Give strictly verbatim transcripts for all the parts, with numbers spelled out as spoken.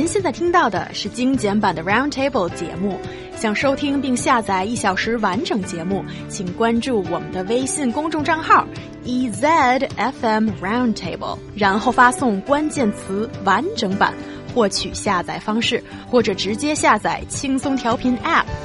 现在听到的是精简版的 Roundtable 节目。想收听并下载一小时完整节目，请关注我们的微信公众账号 E Z F M Roundtable， 然后发送关键词完整版获取下载方式，或者直接下载轻松调频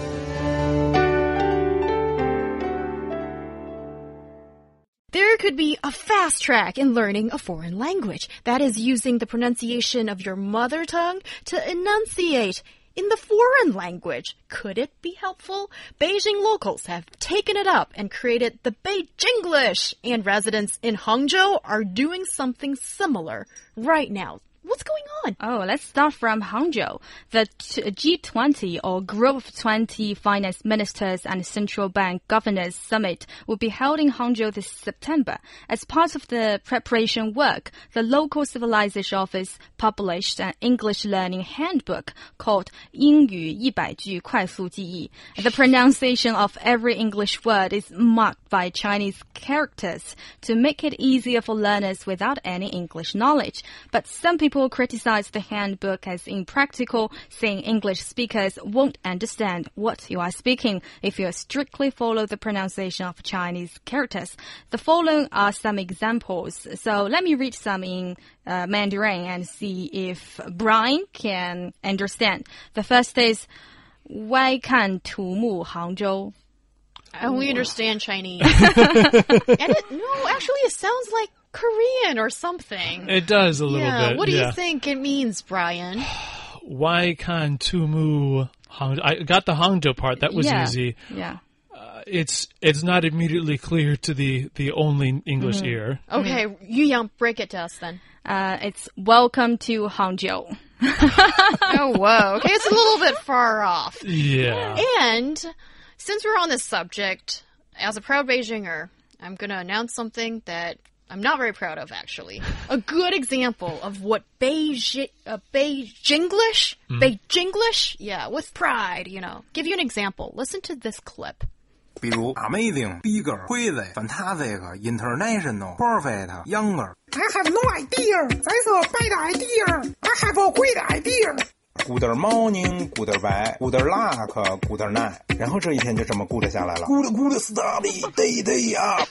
App。There could be a fast track in learning a foreign language. That is using the pronunciation of your mother tongue to enunciate in the foreign language. Could it be helpful? Beijing locals have taken it up and created the Beijinglish, and residents in Hangzhou are doing something similar right now. What's going on? Oh, let's start from Hangzhou. The G twenty, or Group of twenty Finance Ministers and Central Bank Governors Summit, will be held in Hangzhou this September. As part of the preparation work, the local civilization office published an English learning handbook called 英语一百句快速记忆. The pronunciation of every English word is marked by Chinese characters to make it easier for learners without any English knowledge. But some people People criticize the handbook as impractical, saying English speakers won't understand what you are speaking if you strictly follow the pronunciation of Chinese characters. The following are some examples. So let me read some in uh, Mandarin and see if Brian can understand. The first is 歪看土木杭州. I only understand Chinese. and it, no, actually it sounds like Korean or something. It does a little yeah. bit. What do yeah. you think it means, Brian? Why can't Tumu Hangzhou? I got the Hangzhou part. That was yeah. easy. Yeah. Uh, it's it's not immediately clear to the, the only English mm-hmm. ear. Okay, mm-hmm. Yu Yang, break it to us then. Uh, it's welcome to Hangzhou. Oh, whoa. Okay, it's a little bit far off. Yeah. And since we're on this subject, as a proud Beijinger, I'm going to announce something that I'm not very proud of, actually. A good example of what Beijing, uh, Beijinglish, mm. Beijinglish, yeah, with pride, you know. Give you an example. Listen to this clip. 比如 amazing, bigger, crazy, fantastic, international, perfect, younger. I have no idea. That's a bad idea. I have a great idea. Good morning, good bye, good luck, good night. 然后这一天就这么 good 下来了。Good, good study, day, day up.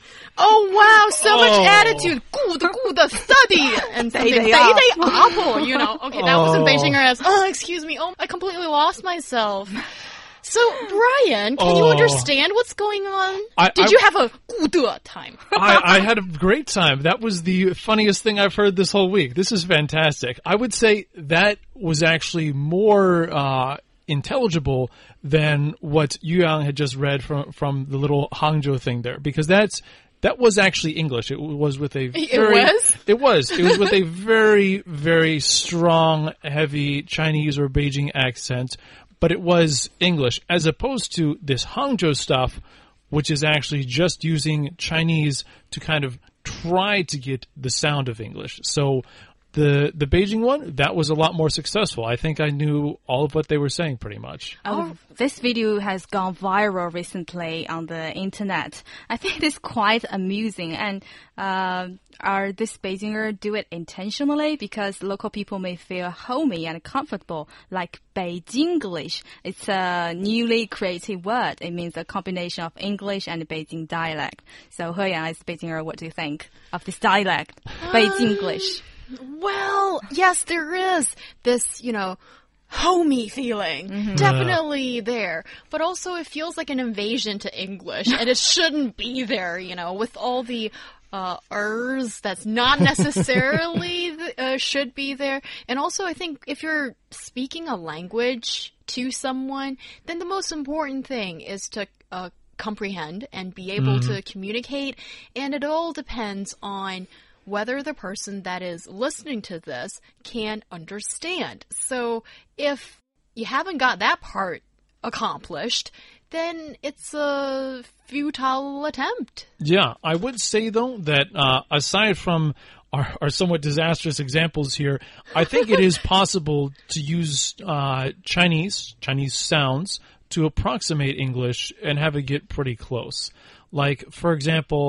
Oh, wow, so oh. much attitude. Good, good study. And day, day, day, day apple, you know. Okay, that oh. wasn't Beijinger as, oh, excuse me. Oh, I completely lost myself. So, Brian, can oh. you understand what's going on? I, Did I, you have a good time? I, I had a great time. That was the funniest thing I've heard this whole week. This is fantastic. I would say that was actually more uh, intelligible than what Yu Yang had just read from, from the little Hangzhou thing there, because that's That was actually English. It was with a very... It was? It was. It was with a very, very strong, heavy Chinese or Beijing accent, but it was English, as opposed to this Hangzhou stuff, which is actually just using Chinese to kind of try to get the sound of English. So the the Beijing one, that was a lot more successful. I think I knew all of what they were saying pretty much. Oh, this video has gone viral recently on the internet. I think it is quite amusing. And uh, are this Beijinger do it intentionally? Because local people may feel homey and comfortable, like Beijinglish. It's a newly created word. It means a combination of English and Beijing dialect. So He Yang, as Beijinger, what do you think of this dialect, Beijinglish? Well, yes, there is this, you know, homey feeling. Mm-hmm. Definitely there. But also it feels like an invasion to English, and it shouldn't be there, you know, with all the uh, ers that's not necessarily uh, should be there. And also I think if you're speaking a language to someone, then the most important thing is to uh, comprehend and be able mm-hmm. to communicate. And it all depends on whether the person that is listening to this can understand. So if you haven't got that part accomplished, then it's a futile attempt. Yeah, I would say, though, that uh, aside from our, our somewhat disastrous examples here, I think it is possible to use uh, Chinese, Chinese sounds to approximate English and have it get pretty close. Like, for example,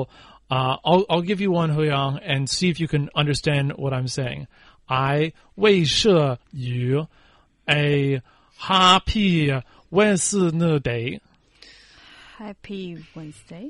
Uh, I'll, I'll give you one, Huyang, and see if you can understand what I'm saying. I 为设于 a happy Wednesday. Happy Wednesday.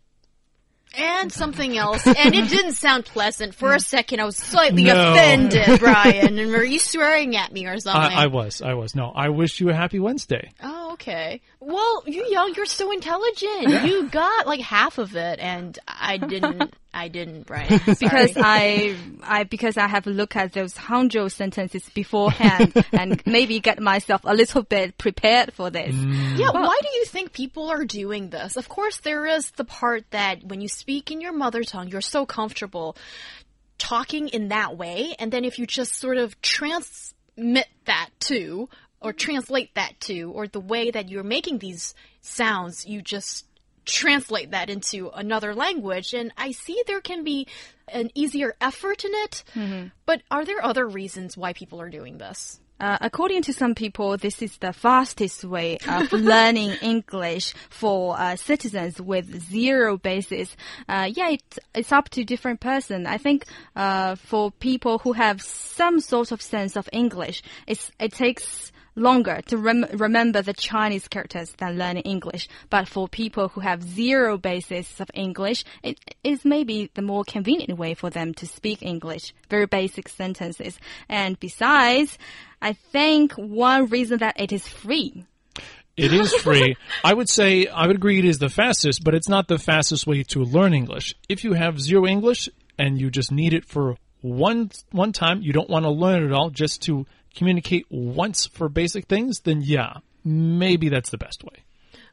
And something else. And it didn't sound pleasant. For a second, I was slightly No. offended, Brian. And were you swearing at me or something? I, I was, I was. No, I wish you a happy Wednesday. Oh, okay. Well, you young, you're so intelligent. You got like half of it, and I didn't. I didn't, Brian. Sorry. Because I, I, because I have looked at those Hangzhou sentences beforehand and maybe get myself a little bit prepared for this. Yeah, why do you think people are doing this? Of course, there is the part that when you speak in your mother tongue, you're so comfortable talking in that way, and then if you just sort of transmit that to, or translate that to, or the way that you're making these sounds, you just translate that into another language, and I see there can be an easier effort in it, mm-hmm. but are there other reasons why people are doing this? Uh, according to some people, this is the fastest way of learning English for uh, citizens with zero basis. Uh, yeah, it, it's up to different person. I think uh, for people who have some sort of sense of English, it's, it takes longer to rem remember the Chinese characters than learning English. But for people who have zero basis of English, it is maybe the more convenient way for them to speak English, very basic sentences. And besides, I think one reason that it is free. It is free. I would say, I would agree it is the fastest, but it's not the fastest way to learn English. If you have zero English and you just need it for one, one time, you don't want to learn it all just to communicate once for basic things, then yeah, maybe that's the best way.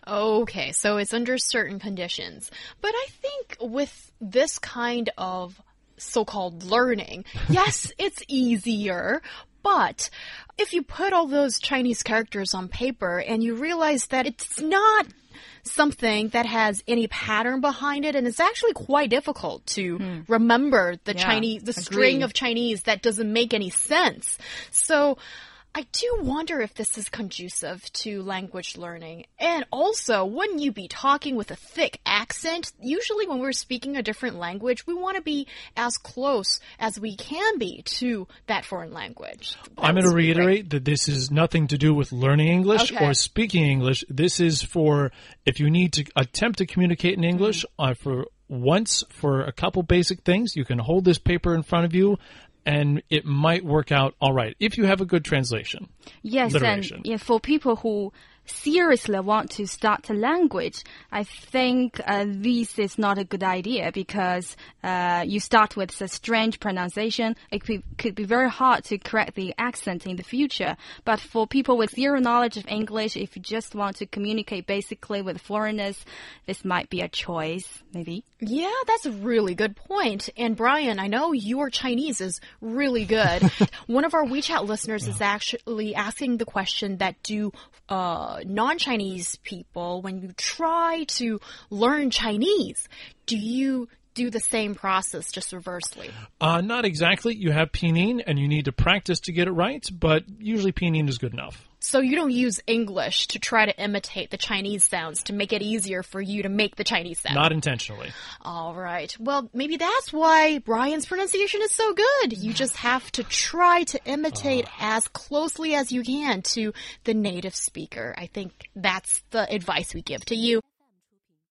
Okay, so it's under certain conditions. But I think with this kind of so-called learning, yes, it's easier, but if you put all those Chinese characters on paper and you realize that it's not something that has any pattern behind it, and it's actually quite difficult to hmm. remember the yeah, Chinese, the agree. string of Chinese that doesn't make any sense. So I do wonder if this is conducive to language learning. And also, wouldn't you be talking with a thick accent? Usually when we're speaking a different language, we want to be as close as we can be to that foreign language. That I'm going to reiterate great. that this is nothing to do with learning English Okay. or speaking English. This is for if you need to attempt to communicate in English mm. uh, for once for a couple basic things, you can hold this paper in front of you and it might work out all right if you have a good translation. Yes, literation. and yeah, for people who seriously want to start a language, I think uh, this is not a good idea because uh, you start with a strange pronunciation. It could, could be very hard to correct the accent in the future. But for people with zero knowledge of English, if you just want to communicate basically with foreigners, this might be a choice, maybe. Yeah, that's a really good point. And Brian, I know your Chinese is really good. One of our WeChat listeners yeah. is actually asking the question that do uh, non-Chinese people, when you try to learn Chinese, do you do the same process, just reversely? Uh, not exactly. You have pinyin, and you need to practice to get it right, but usually pinyin is good enough. So you don't use English to try to imitate the Chinese sounds to make it easier for you to make the Chinese sound? Not intentionally. All right. Well, maybe that's why Brian's pronunciation is so good. You just have to try to imitate uh. as closely as you can to the native speaker. I think that's the advice we give to you.